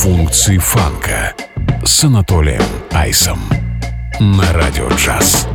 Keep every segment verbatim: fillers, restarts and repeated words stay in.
Функции фанка с Анатолием Айсом на Радио Джаз.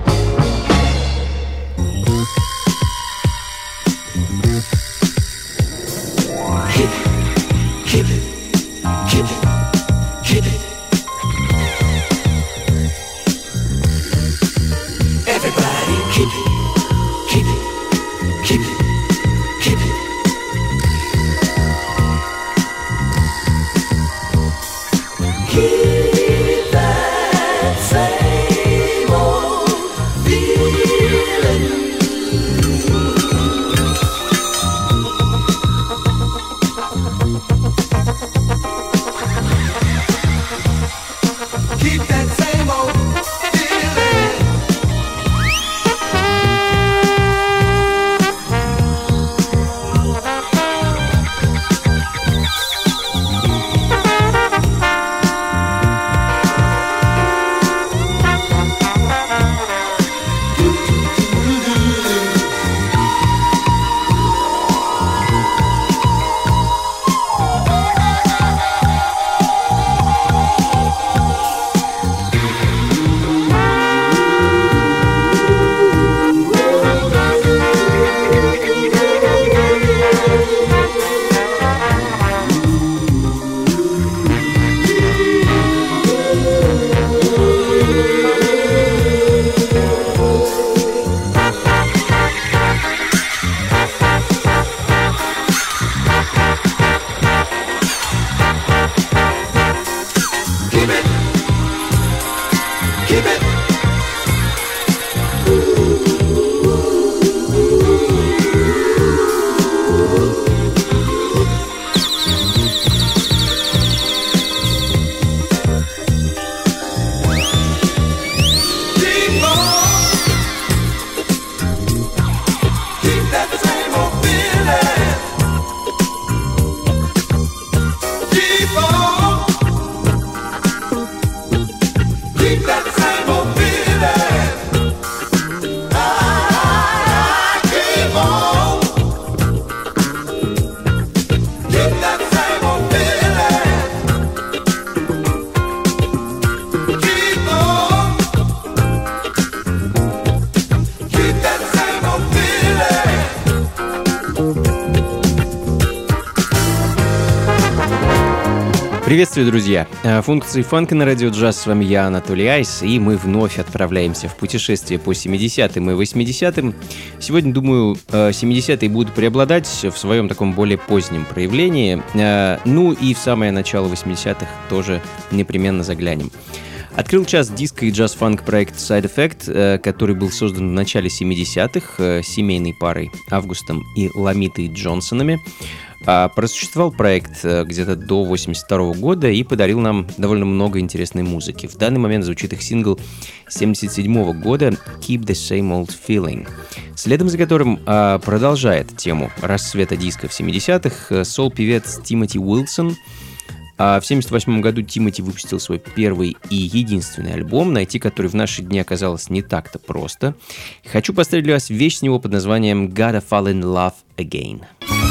Приветствую, друзья! Функции фанка на Радио Джаз. С вами я, Анатолий Айс, и мы вновь отправляемся в путешествие по семидесятым и восьмидесятым. Сегодня, думаю, семидесятые будут преобладать в своем таком более позднем проявлении. Ну и в самое начало восьмидесятых тоже непременно заглянем. Открыл час диско и джаз-фанк проект Side Effect, который был создан в начале семидесятых семейной парой Августом и Ламитой Джонсонами. Просуществовал проект где-то до восемьдесят второго года и подарил нам довольно много интересной музыки. В данный момент звучит их сингл семьдесят седьмого года «Keep the Same Old Feeling», следом за которым а, продолжает тему расцвета диска в семидесятых сол-певец Тимоти Уилсон. А в семьдесят восьмом году Тимоти выпустил свой первый и единственный альбом, найти который в наши дни оказалось не так-то просто. Хочу поставить для вас вещь с него под названием «Gotta Fall in Love Again».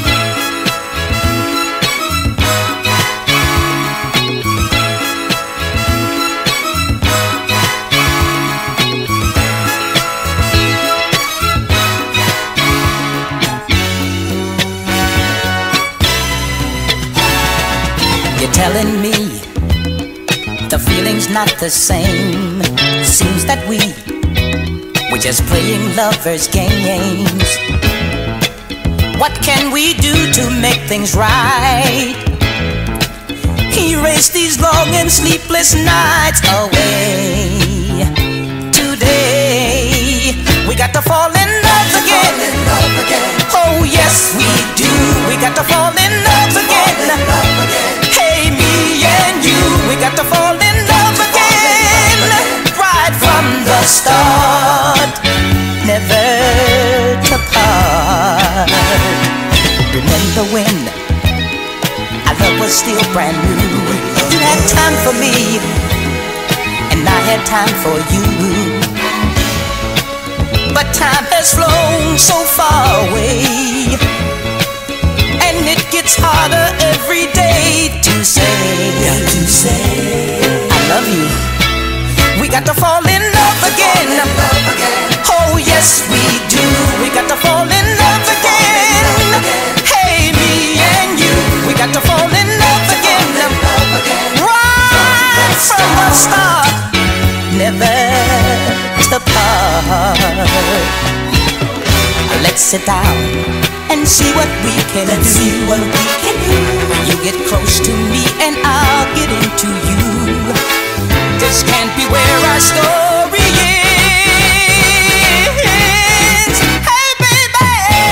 You're telling me the feeling's not the same. Seems that we we're just playing lovers' games. What can we do to make things right? Erase these long and sleepless nights away. Today we got to fall in love again. Fall in love again. Oh yes we do. We got to fall in love again. Fall in love again. Hey me and you, we got to fall in love again. Right from the start, never to part. Remember when our love was still brand new? You had time for me, and I had time for you. But time has flown so far away, and it gets harder every day to say. got to fall in love again. Oh yes we do. We got to fall in love again. Hey, me and you, we got to fall in love again. Right from the start, never to part. Let's sit down and see what we can Let's do. See what we can do. You get close to me and I'll get into you. This can't be where our story ends. Hey baby,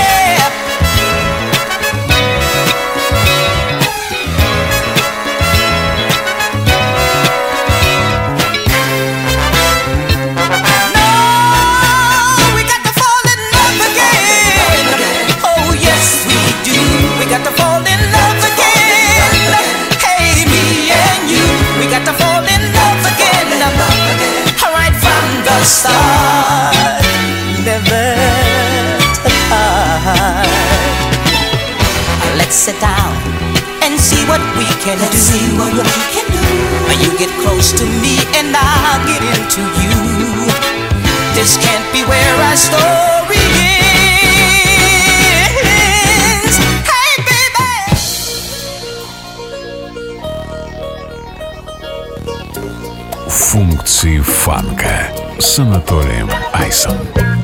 no, we got to fall in love again. Oh yes we do. We got to fall in love again. Hey, me and you, we got to fall in love again. Right from the start, never to part. Let's sit down and see what we can Let's do. See what we can do. You get close to me and I'll get into you. This can't be where our story ends. Hey baby. Функции фанка с Анатолием Айсом.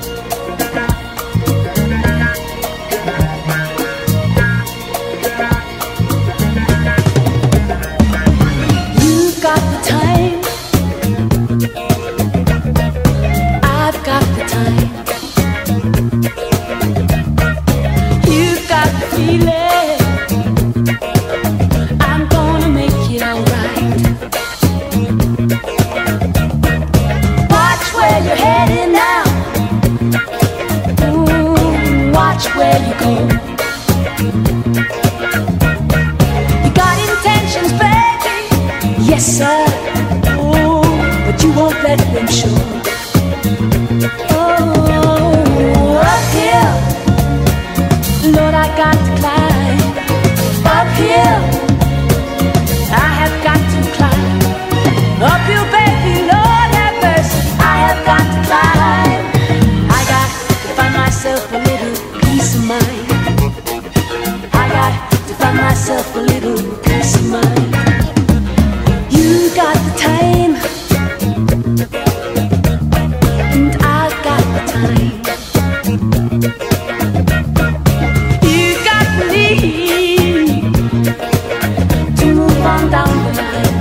You've got the time, I've got the time. You've got the feeling, I'm gonna make it alright. Watch where you're heading now. Ooh, watch where you go. You got intentions, baby. Yes, sir. Oh, but you won't let them show. Oh, uphill, Lord, I got to climb. Uphill, I have got to climb. Uphill, baby, Lord have mercy, I have got to climb. I got to find myself a little peace of mind. I got to find myself a little peace of mind. You got the time, and I got the time. You got the need to move on down the line.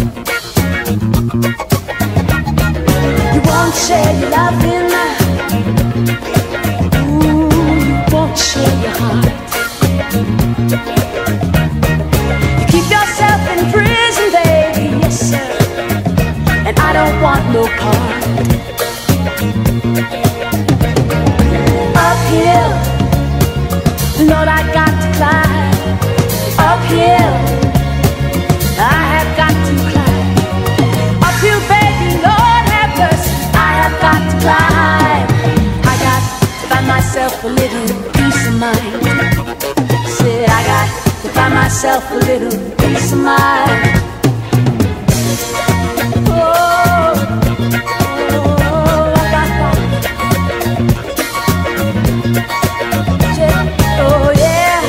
You won't share your loving, ooh, you won't share your heart. You keep yourself in prison, baby, yes sir, and I don't want no part. Uphill, Lord, I got to climb. Uphill, I have got to climb. Uphill, baby, Lord have mercy, I have got to climb. I got to find myself a little peace of mind. Said I got to find myself a little peace of mind. Oh, oh, I got that. Oh yeah.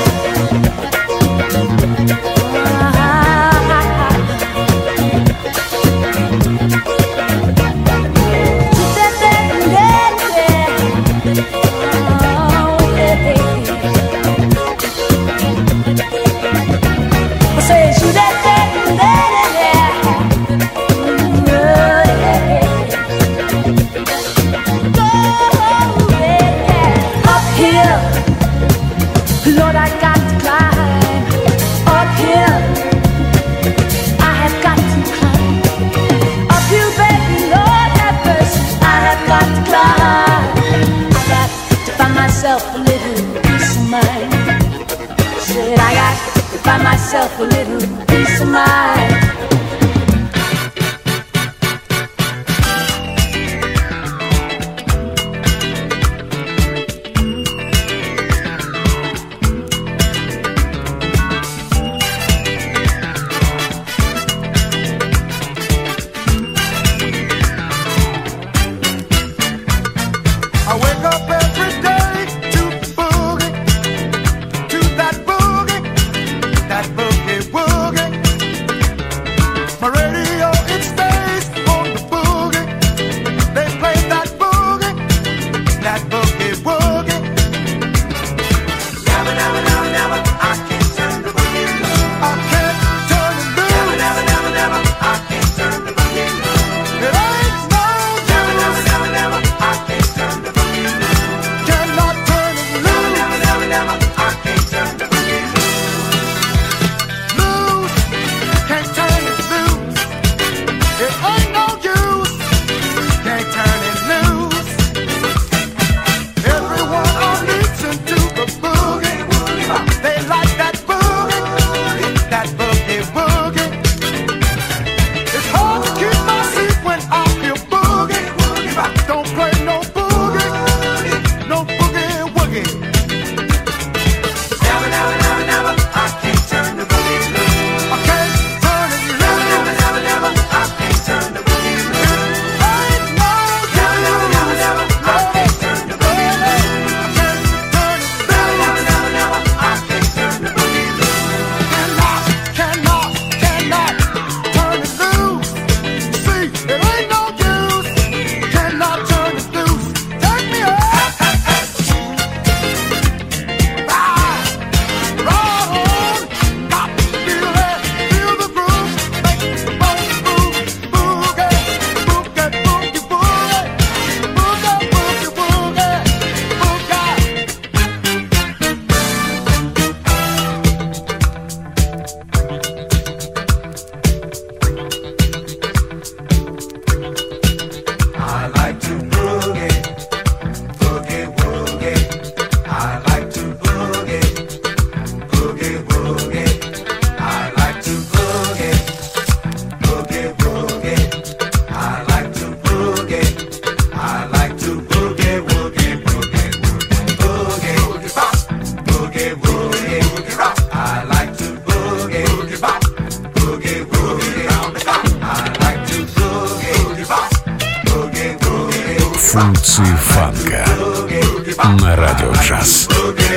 Lord, I got to climb uphill. I have got to climb uphill, baby. Lord have mercy, I have got to climb. I got to find myself a little peace of mind. Said I got to find myself a little peace of mind. Функции фанка на радио джаз.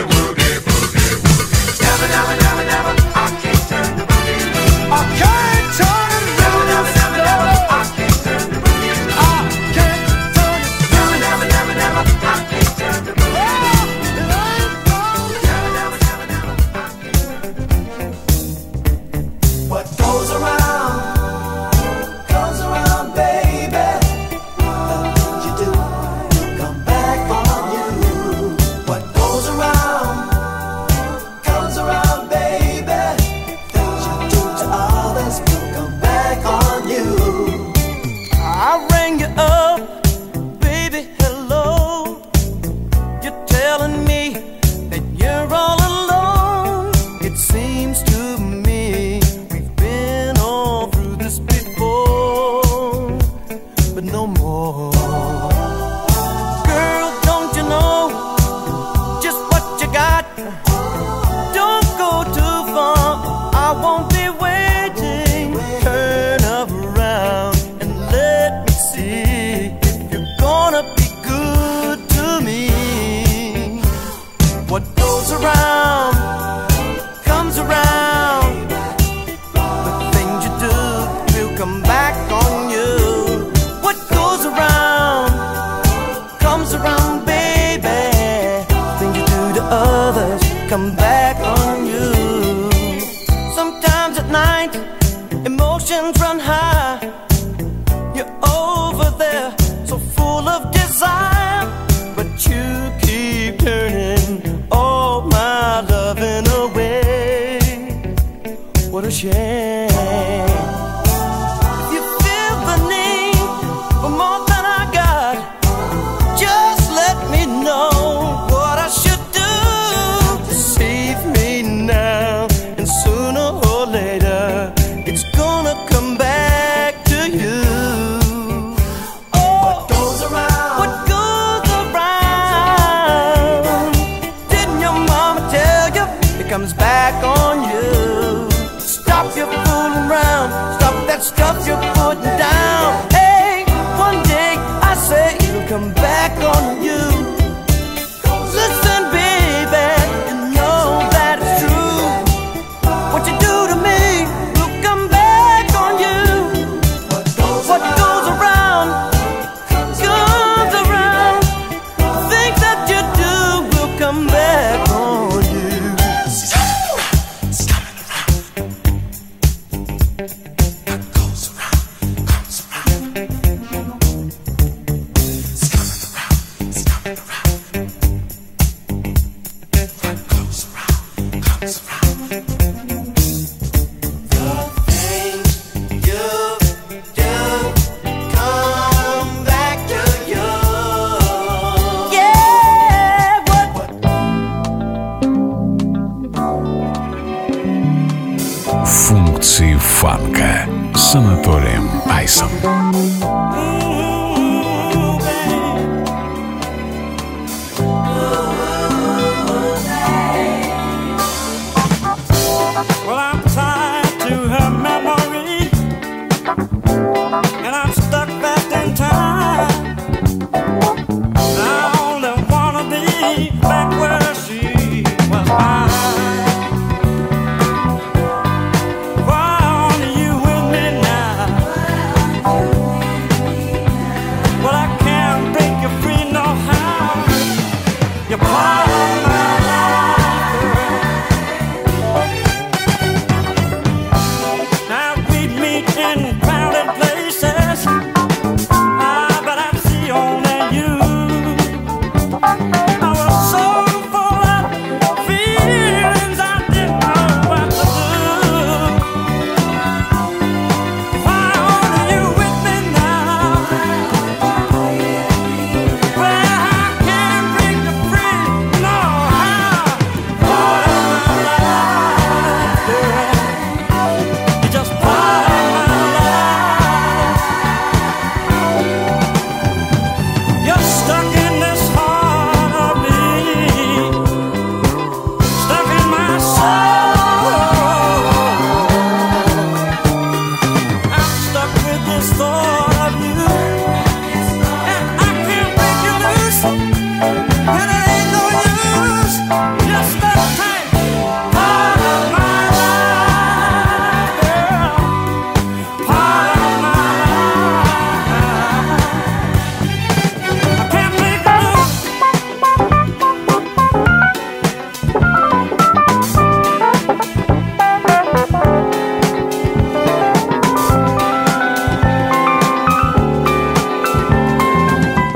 Функции фанка с Анатолием Айсом. Why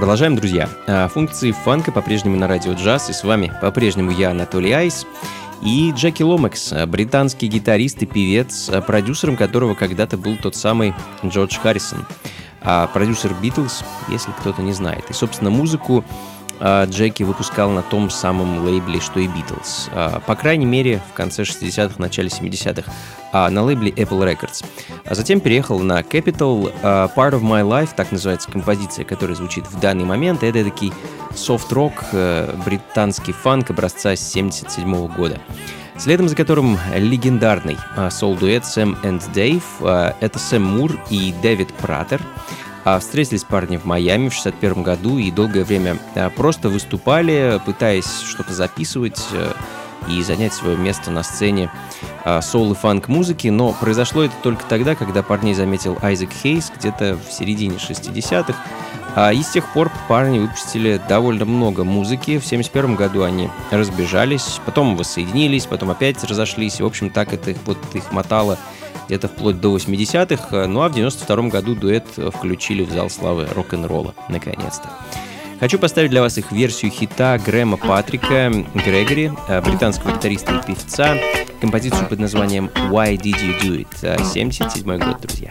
продолжаем, друзья. Функции фанка по-прежнему на радио джаз, и с вами по-прежнему я, Анатолий Айс, и Джеки Ломакс, британский гитарист и певец, продюсером которого когда-то был тот самый Джордж Харрисон, продюсер Битлз, если кто-то не знает. И, собственно, музыку Джеки выпускал на том самом лейбле, что и Битлз. По крайней мере, в конце шестидесятых, начале семидесятых, на лейбле Apple Records. А затем переехал на Capitol. Part of My Life, так называется композиция, которая звучит в данный момент. Это такой софт-рок, британский фанк образца семьдесят седьмого года. Следом за которым легендарный соул-дуэт Сэм энд Дэйв. Это Сэм Мур и Дэвид Пратер. Встретились парни в Майами в шестьдесят первом году и долгое время просто выступали, пытаясь что-то записывать и занять свое место на сцене соул и фанк-музыки, но произошло это только тогда, когда парней заметил Айзек Хейс где-то в середине шестидесятых, и с тех пор парни выпустили довольно много музыки. В семьдесят первом году они разбежались, потом воссоединились, потом опять разошлись, и, в общем, так это вот их мотало где-то вплоть до восьмидесятых, ну а в девяносто втором году дуэт включили в зал славы рок-н-ролла, наконец-то. Хочу поставить для вас их версию хита Грэма Патрика Грегори, британского гитариста и певца, композицию под названием «Why Did You Do It?» семьдесят седьмой год, друзья.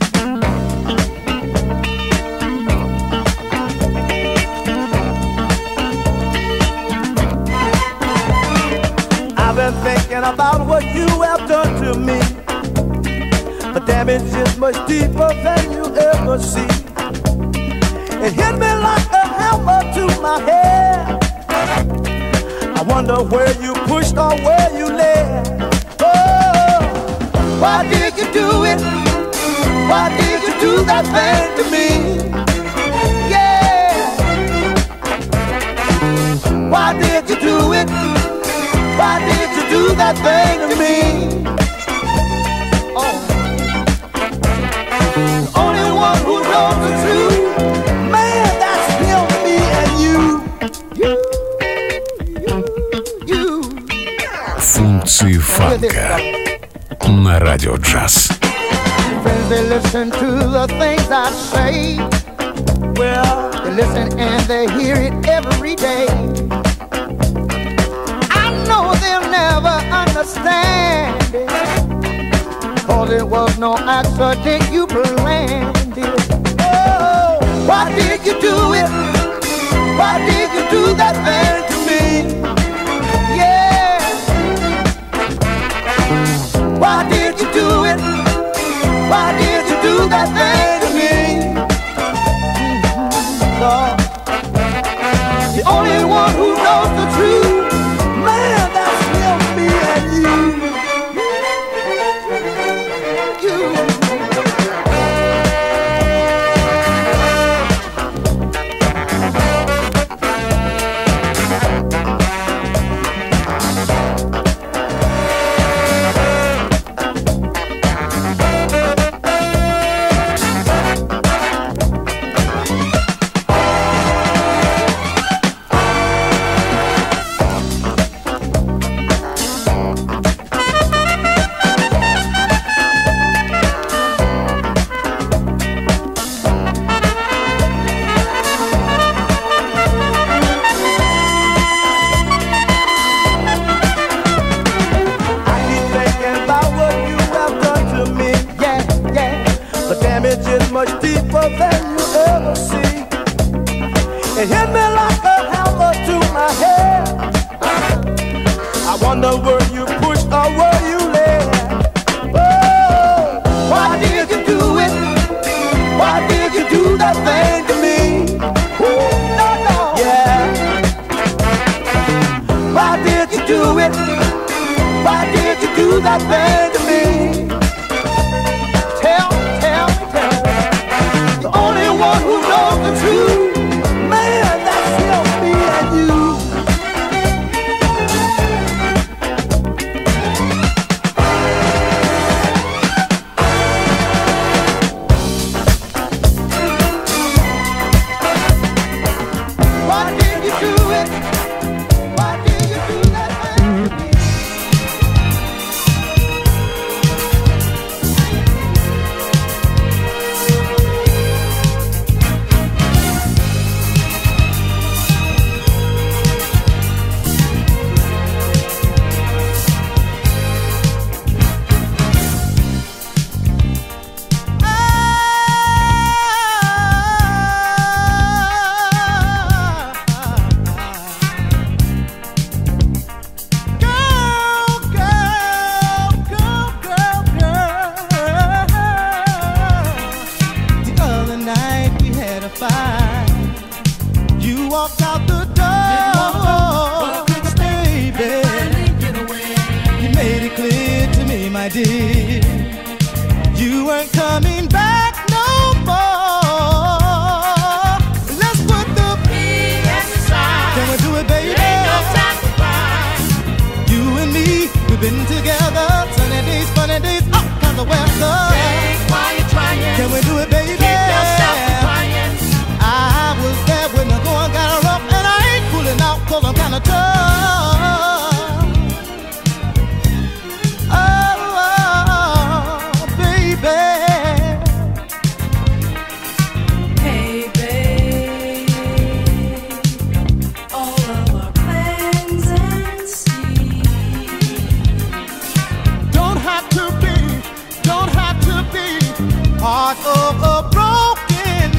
I've been thinking about what you have done to me. The damage is much deeper than you ever see. It hit me like a hammer to my head. I wonder where you pushed or where you led. Oh, why did you do it? Why did you do that thing to me? Yeah. Why did you do it? Why did you do that thing to me? Oh. The only one who knows the truth, man, that's him, me, and you. You, you, you. Функции фанка на радио джаз. Friends, they listen to the things I say. Well, they listen and they hear it every day. I know they'll never understand it, 'cause it was no accident, you planned it. Oh, why did you do it? Why did you do that thing to me? Yeah. Why did you do it? Why did you do that thing to me? Mm-hmm. Lord, the only one who knows the truth, man, that's him, me, and you. did. You weren't coming back no more. Let's put the P S aside. Can we do it, baby? There ain't no time to cry. You and me, we've been together. Sunny days, funny days, all kinds of weather. Think while you're trying. Can we do it, baby? Keep yourself from crying. I was there when the going got rough, and I ain't pulling out 'cause I'm kinda tough. Part of a broken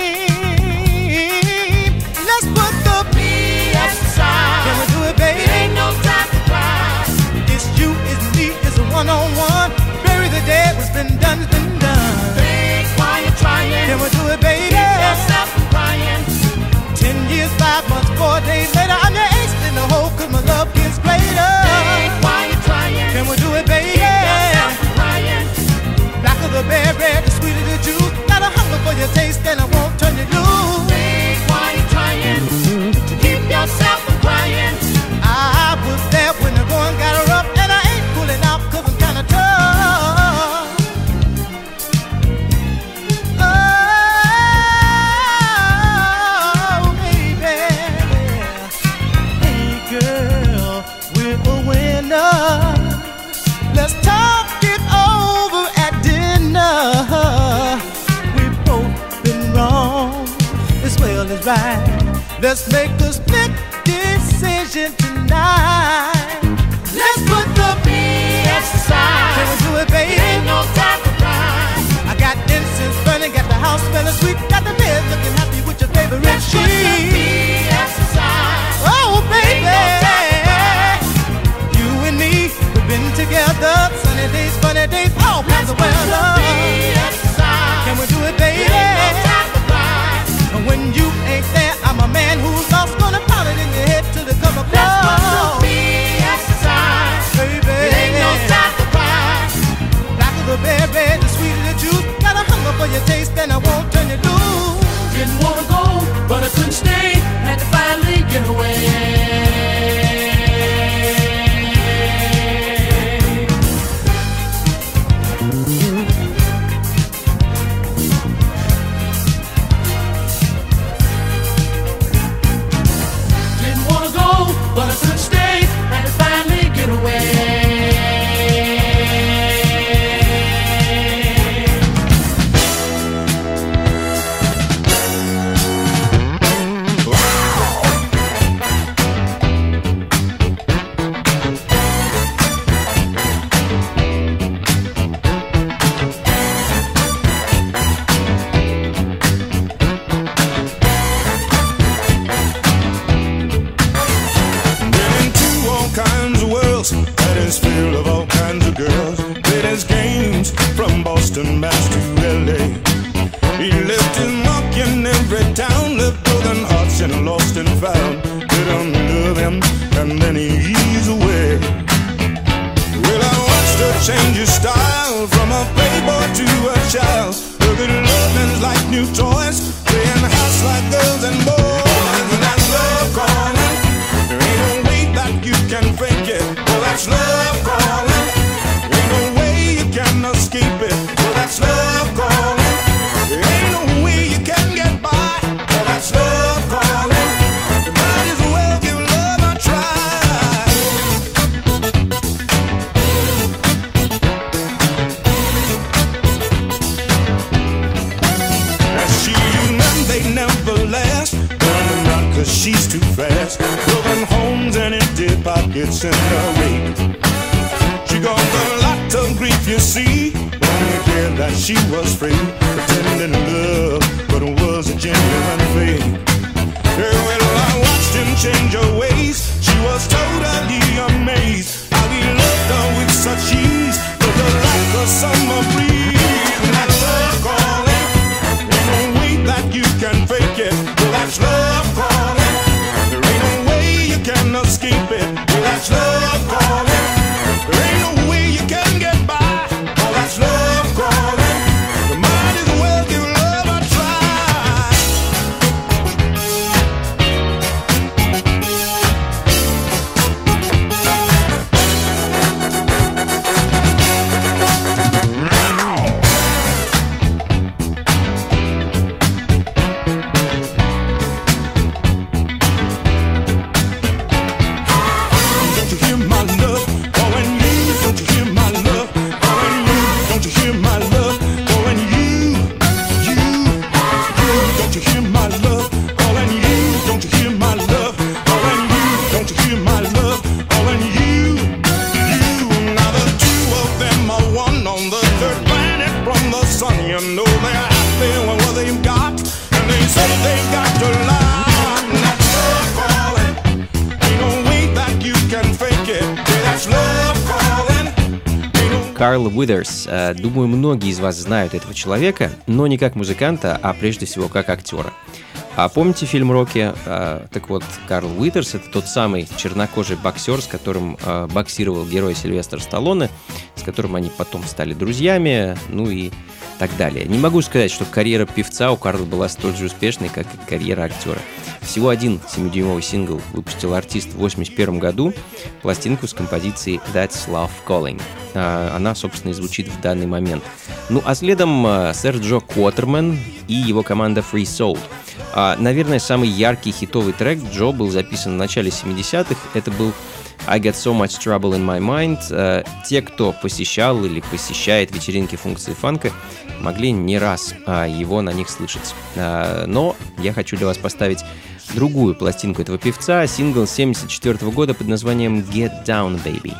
dream. Let's put the P S aside. Can we do it, baby? There ain't no time to cry. It's you, it's me, it's a one-on-one. Bury the dead, what's been done has been done. Think while you're trying. Can we do it, baby? Keep yourself from crying. Ten years, five months, four days later, I'm your ace in the hole 'cause my love gets greater. Think while you're trying. Can we do it, baby? Keep yourself from crying. Blacker the berry, the sweeter the juice. Got a hunger for your taste and I won't turn you loose. Think while you're trying to keep yourself from crying. I was there when the going got rough, and I ain't pulling out 'cause I'm kinda tough. Oh, baby. Hey, girl, we're a winner. Let's talk it over at dinner. We've both been wrong as well as right. Let's make a split decision tonight. Let's put the B S aside. Can we do it, baby? Ain't no time to cry. I got incense burning, got the house smelling sweet, got the bed looking happy with your favorite Let's put the sheet. B S aside. Oh, baby. Ain't no time to cry. You and me, we've been together. Sunny days, funny days, all kinds of weather. Can we do it, baby? And when you ain't there, I'm a man who's lost, gonna pound it in your head till it come across. Baby, it ain't no time to cry. Black of the berry, the sweeter the juice. Got a hunger for your taste, and I won't turn you loose. Didn't wanna go, but I couldn't stay. Had to finally get away. But I couldn't stay, had to finally get away. That is filled of all kinds of girls. Played his games from Boston, Mass to L A. He left his mark in every town, left broken hearts and lost and found. Didn't love him, and then he's away. Well, I watched her change his style from a playboy to a child. Look at loving's like new toys, playing house like girls and boys. And that's love calling. There ain't no way that you can fake it. Well, that's love calling. Ain't no way you can escape it. Well, that's love calling. There ain't no way you can get by. Well, that's love calling. You might as well give love a try. Now she and them, they never last. Running around 'cause she's too fast. Broken homes and empty pockets in her wake. She got a lot of grief, you see. Only care that she was free, pretending love, but it was a genuine fake. Yeah, well, I watched him change her ways. She was totally amazed how he loved her with such ease, with her like a summer breeze. And that's love calling. Ain't no way that you can fake it. Well, that's love calling. There ain't no way you can escape it. Well, that's love calling. There ain't no way you can get by. Карл Уитерс. Думаю, многие из вас знают этого человека, но не как музыканта, а прежде всего как актера. А помните фильм «Рокки»? А, так вот, Карл Уитерс — это тот самый чернокожий боксер, с которым а, боксировал герой Сильвестр Сталлоне, с которым они потом стали друзьями, ну и так далее. Не могу сказать, что карьера певца у Карла была столь же успешной, как и карьера актера. Всего один семидюймовый сингл выпустил артист в восемьдесят первом году, пластинку с композицией «That's Love Calling». А, она, собственно, и звучит в данный момент. Ну а следом а, сэр Джо Квотерман и его команда Free Soul. А, наверное, самый яркий хитовый трек Джо был записан в начале семидесятых. Это был I Got So Much Trouble in My Mind. А, те, кто посещал или посещает вечеринки функции фанка, могли не раз а, его на них слышать. А, но я хочу для вас поставить другую пластинку этого певца, сингл семьдесят четвёртого года под названием Get Down, Baby.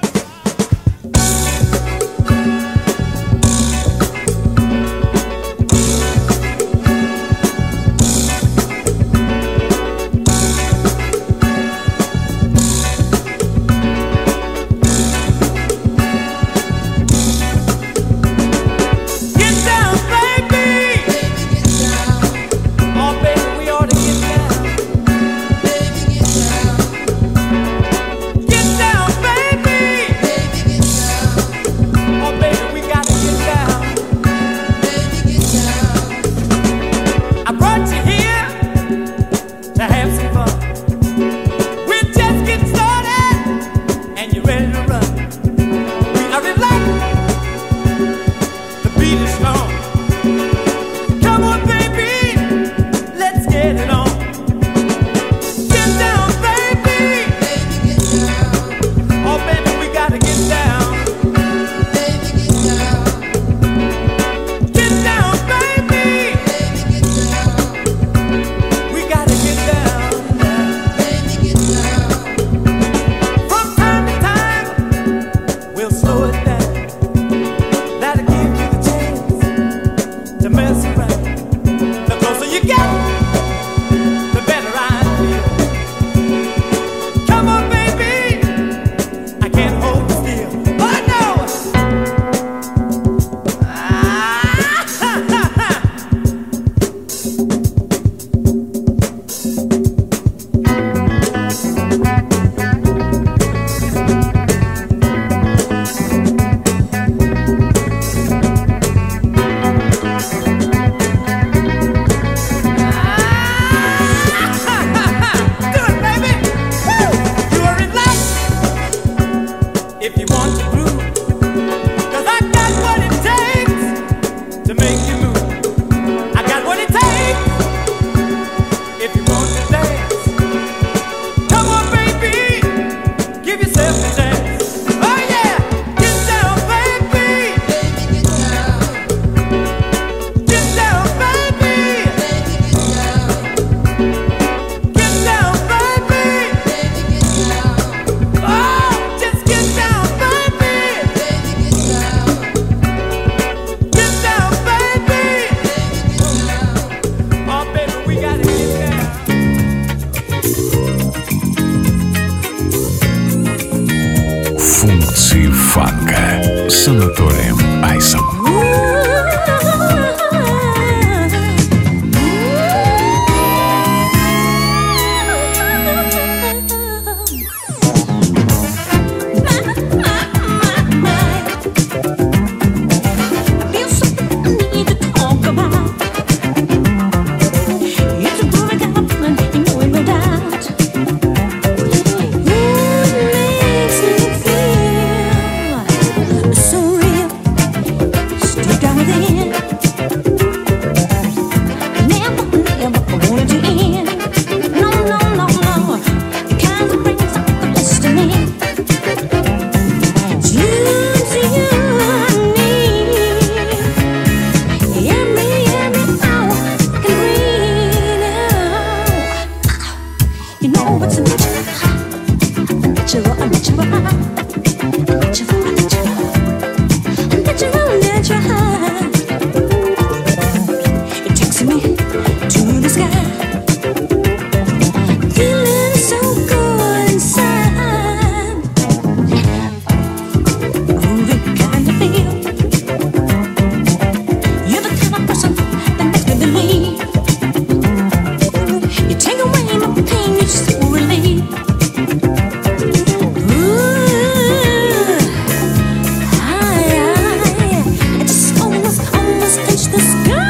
Функции фанка с Анатолием Айсом. So real. the sky.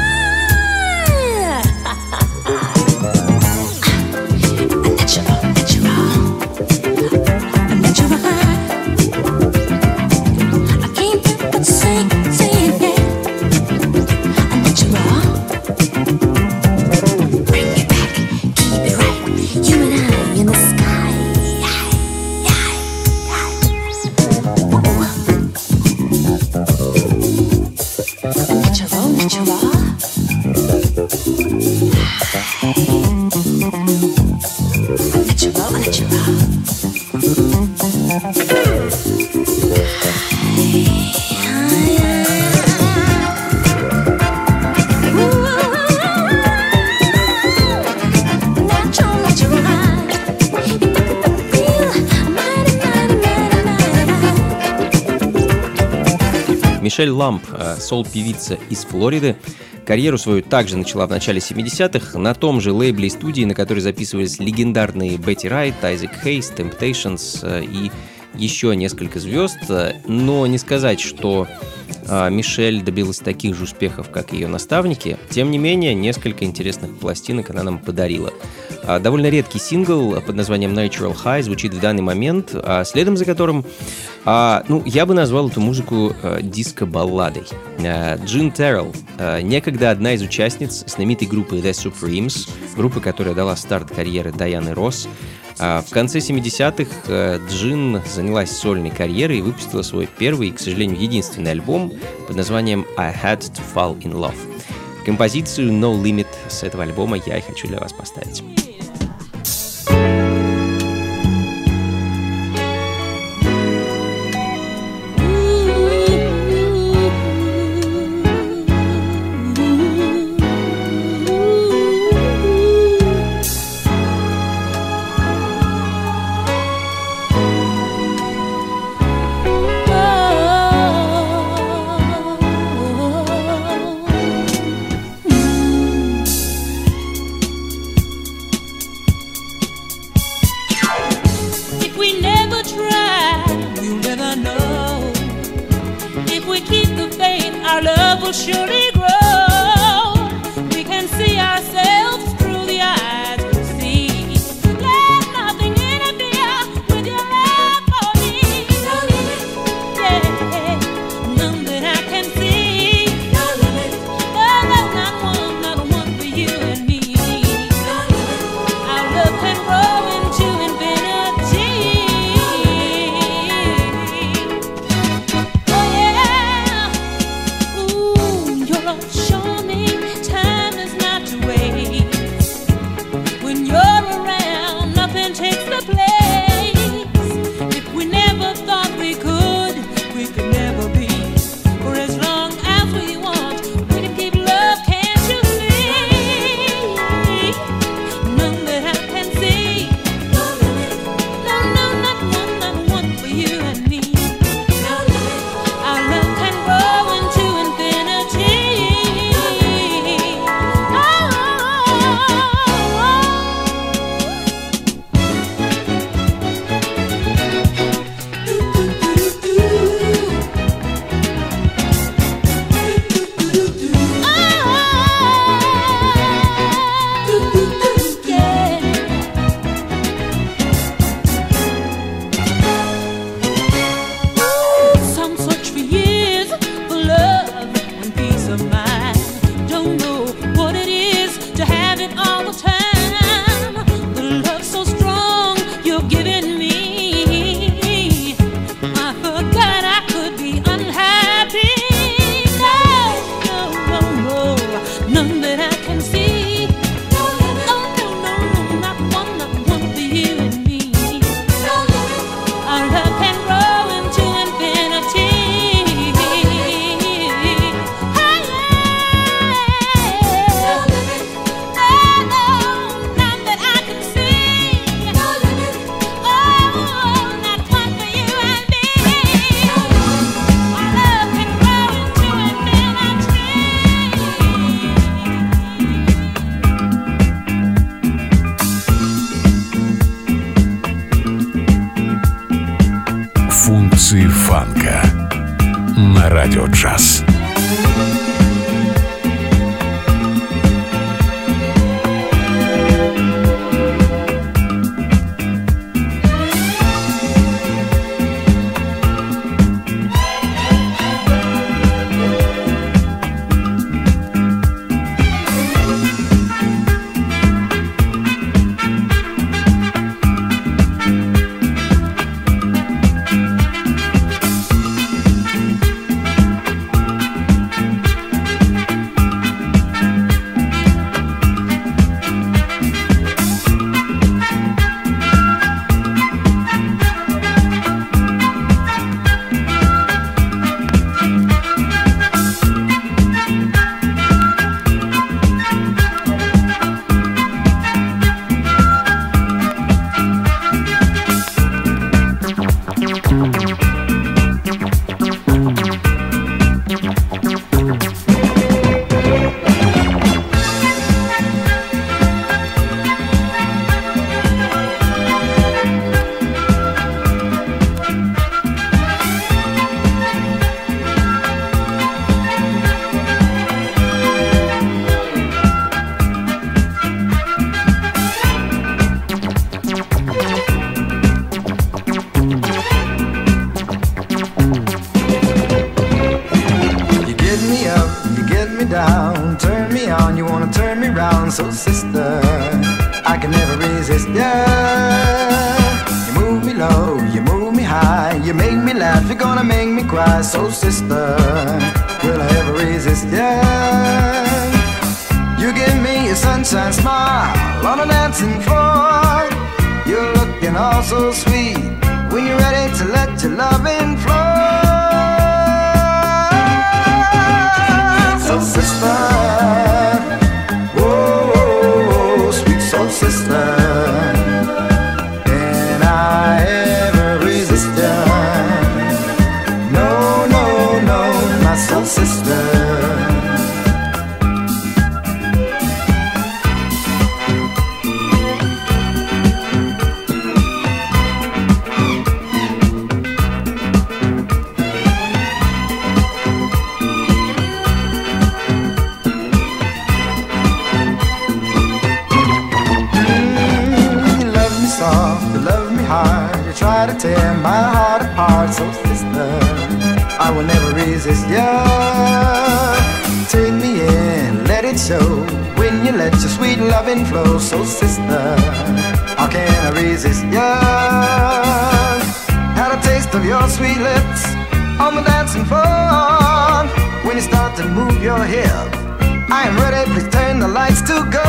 Мишель Ламб, сол-певица из Флориды, карьеру свою также начала в начале семидесятых на том же лейбле и студии, на которой записывались легендарные Бетти Райт, Айзек Хейс, Temptations и еще несколько звезд. Но не сказать, что Мишель добилась таких же успехов, как и ее наставники. Тем не менее, несколько интересных пластинок она нам подарила. Довольно редкий сингл под названием Natural High звучит в данный момент, следом за которым, ну, я бы назвал эту музыку диско-балладой. Джин Террелл, некогда одна из участниц знаменитой группы The Supremes, группы, которая дала старт карьере Дайаны Росс. В конце семидесятых Джин занялась сольной карьерой и выпустила свой первый и, к сожалению, единственный альбом под названием I Had to Fall in Love. Композицию No Limit с этого альбома я и хочу для вас поставить. Surely grow. We can see ourselves through the eyes we see. Let nothing interfere with your love for me. No limit, yeah, none that I can see. No limit, oh no, not one, not one for you and me. No limit, our love can grow into infinity. Oh yeah. Show me time is not to waste. When you're around, nothing takes the place. If we never thought we could, we could never be. For as long as we want, we can keep love, can't you see? None that I can see. No limit, no, no, not one, not one for you and me. No limit, our love can grow into infinity. Some search for years for love and peace of mind. Don't know what it is to have it all the time. The love so strong you're giving me, I forgot I could be unhappy. No, no, no, no, none that I can see. Oh no, no, no, not one, not one for you and me. Our love can grow into infinity. Функции фанка на радио джаз. get me down, turn me on, you wanna turn me round. So sister, I can never resist ya. You move me low, you move me high, you make me laugh, you're gonna make me cry. So sister, will I ever resist ya? You give me a sunshine smile on a dancing floor. You're looking all so sweet when you're ready to let your loving flow. So sister, whoa, whoa, whoa, sweet soul sister, can I ever resist ya? No, no, no, my soul sister. Try to tear my heart apart. So sister, I will never resist ya. Take me in, let it show when you let your sweet loving flow. So sister, how can I resist ya? Had a taste of your sweet lips on the dancing floor. When you start to move your hip, I am ready, please turn the lights to go.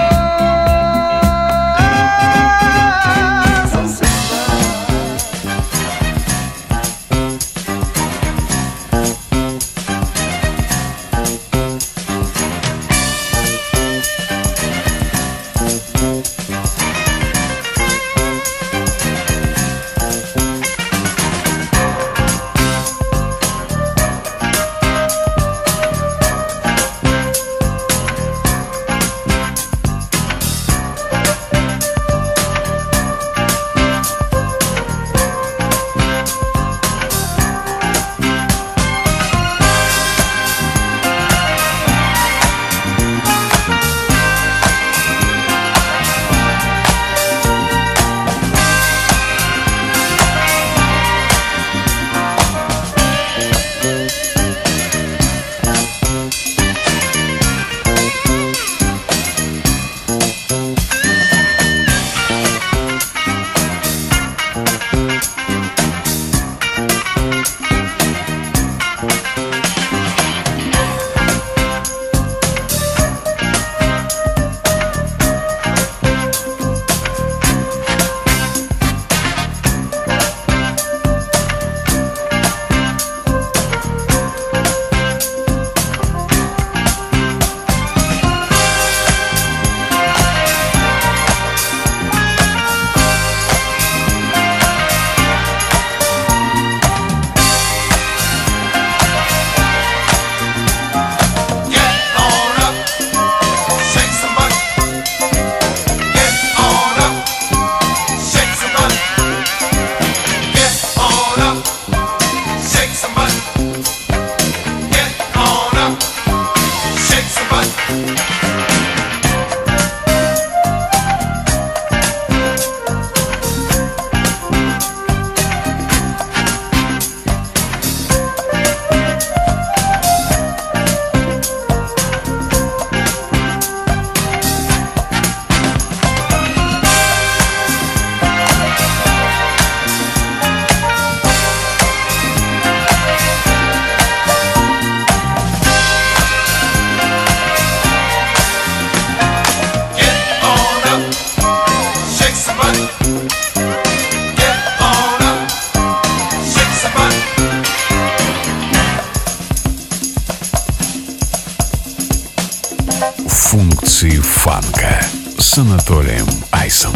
Функции фанка с Анатолием Айсом.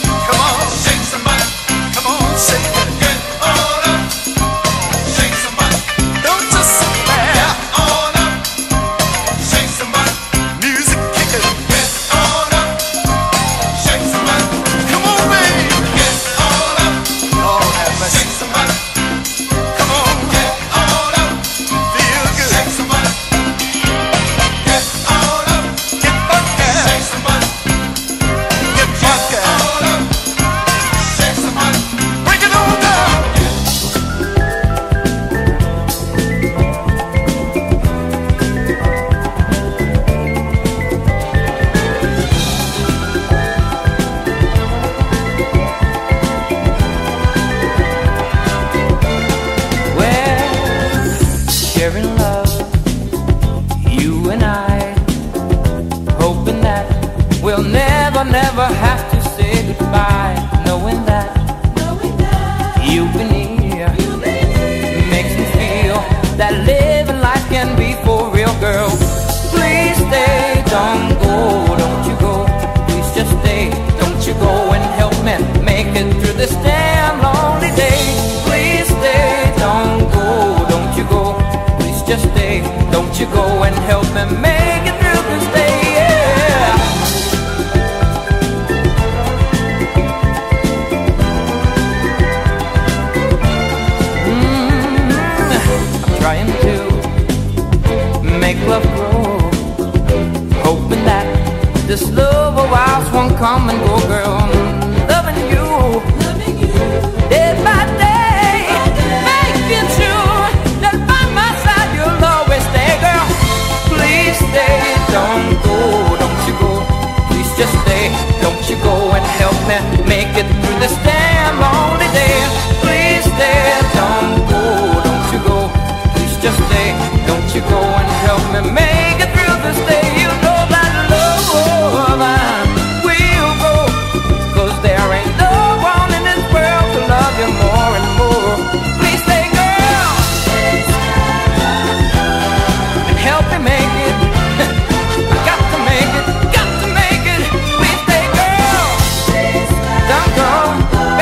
Shake somebody. sharing love, you and I, hoping that we'll never, never have to say goodbye, knowing that, knowing that you've been here, you've been here makes me feel that living life can be for real, girl. Please stay, don't go, don't you go. Please just stay, don't you go and help me make it through this damn lonely day. Please stay, don't go, don't you go. Please just stay, don't you go and help me make it through this day, yeah. Mm-hmm. I'm trying to make love grow, hoping that this love of ours won't come and go, girl. Loving you, loving you, day by day, making sure that by my side you'll always stay, girl. Please stay, don't go, don't you go. Please just stay, don't you go and help me make it through this damn lonely day. Please stay, don't go, don't you go. Please just stay, don't you go and help me make it through this day. You know that love will go, 'cause there ain't no one in this world to love you more and more. Please stay, girl, and help me make it. I got to make it, got to make it. Please stay, girl, don't go.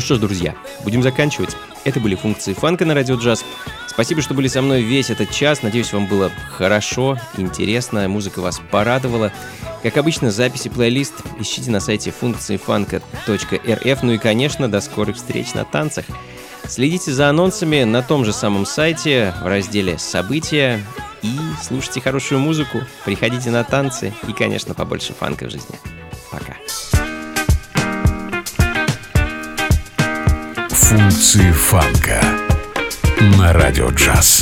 что ж, друзья, будем заканчивать. Это были функции фанка на Радио Джаз. Спасибо, что были со мной весь этот час. Надеюсь, вам было хорошо, интересно, музыка вас порадовала. Как обычно, записи плейлист ищите на сайте функции фанка точка эр эф. Ну и, конечно, до скорых встреч на танцах. Следите за анонсами на том же самом сайте в разделе «События» и слушайте хорошую музыку, приходите на танцы и, конечно, побольше фанка в жизни. Пока. Функции фанка на Радио Джаз.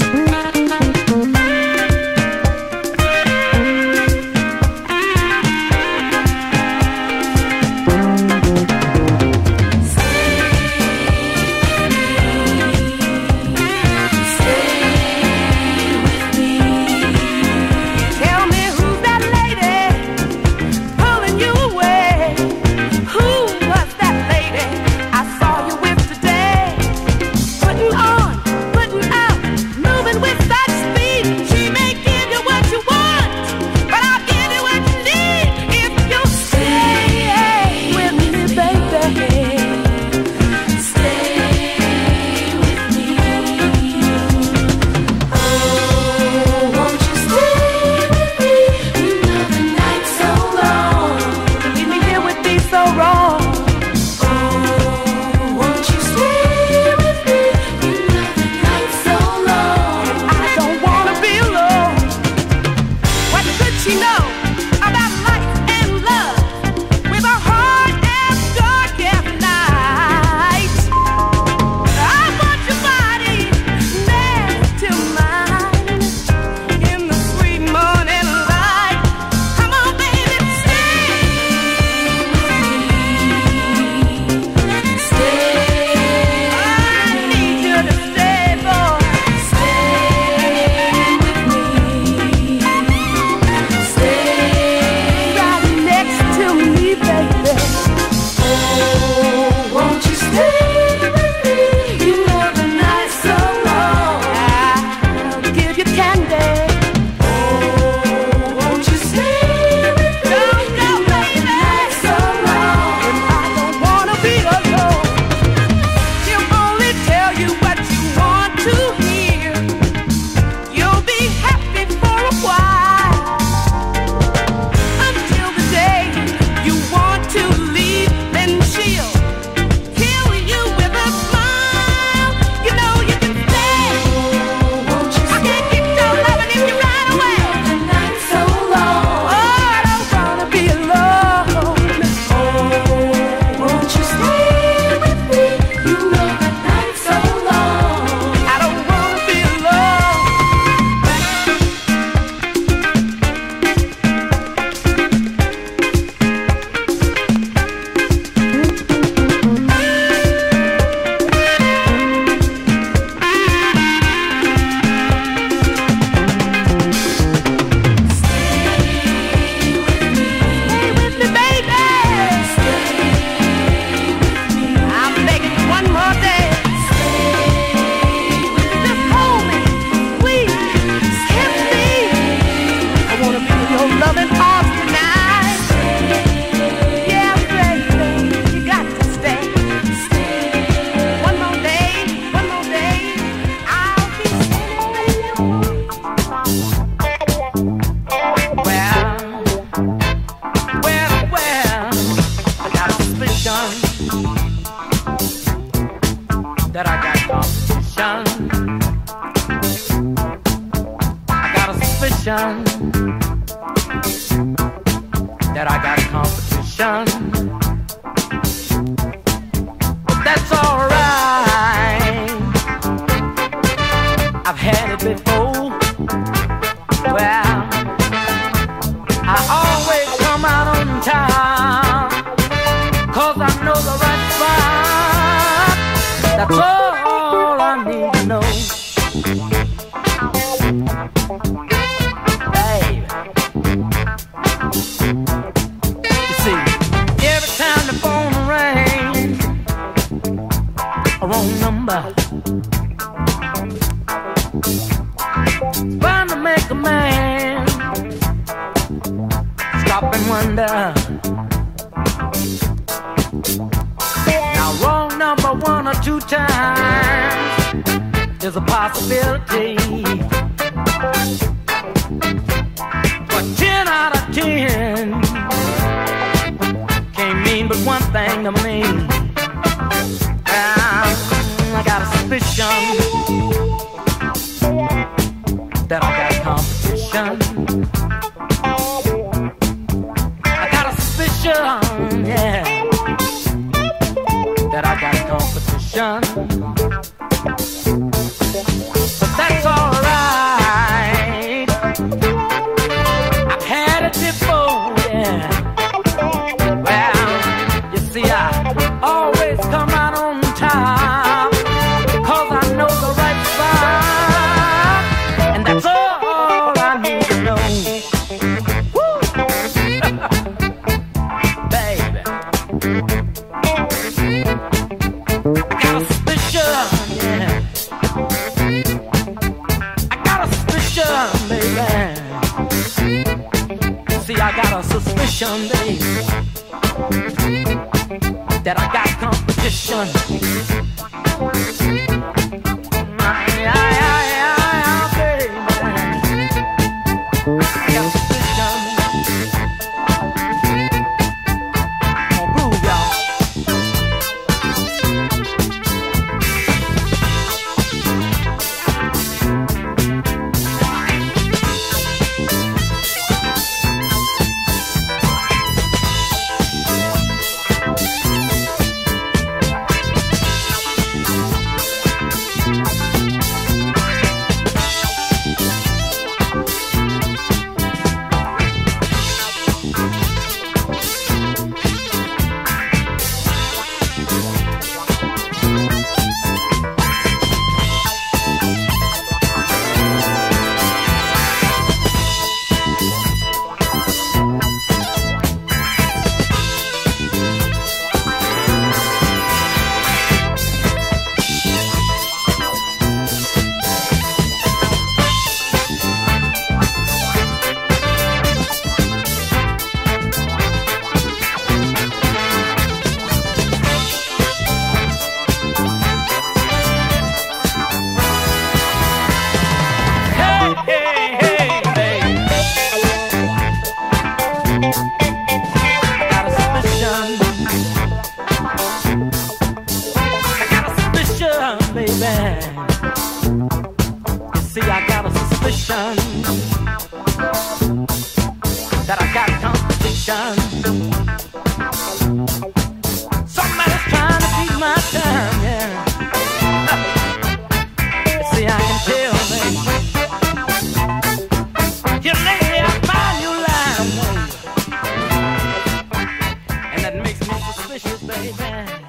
That I got competition. I got a suspicion that I got competition. But that's alright. I've had it before. Well, I always come out on time, 'cause I know the right spot. That's all I need to know. Baby, you see, every time the phone rings, a wrong number, bound to make a man stop and wonder. Now wrong number two times is a possibility. But ten out of ten can't mean but one thing to me. Um, I got a suspicion that I got competition. I got a suspicion, yeah, that I got competition. But that's alright. I've had it before, yeah. Well, you see, I always come out on top, 'cause I know the right spot, and that's all I need to know. Woo! Baby, I got a suspicion, yeah. I got a suspicion, baby. See, I got a suspicion, baby, that I got competition. Yeah, yeah, yeah, yeah, baby. I got a suspicion. Come on, groove, y'all. That I got competition. Somebody's trying to beat my time, yeah. See, I can tell, baby. Here lately I find you lying, baby, and that makes me suspicious, baby.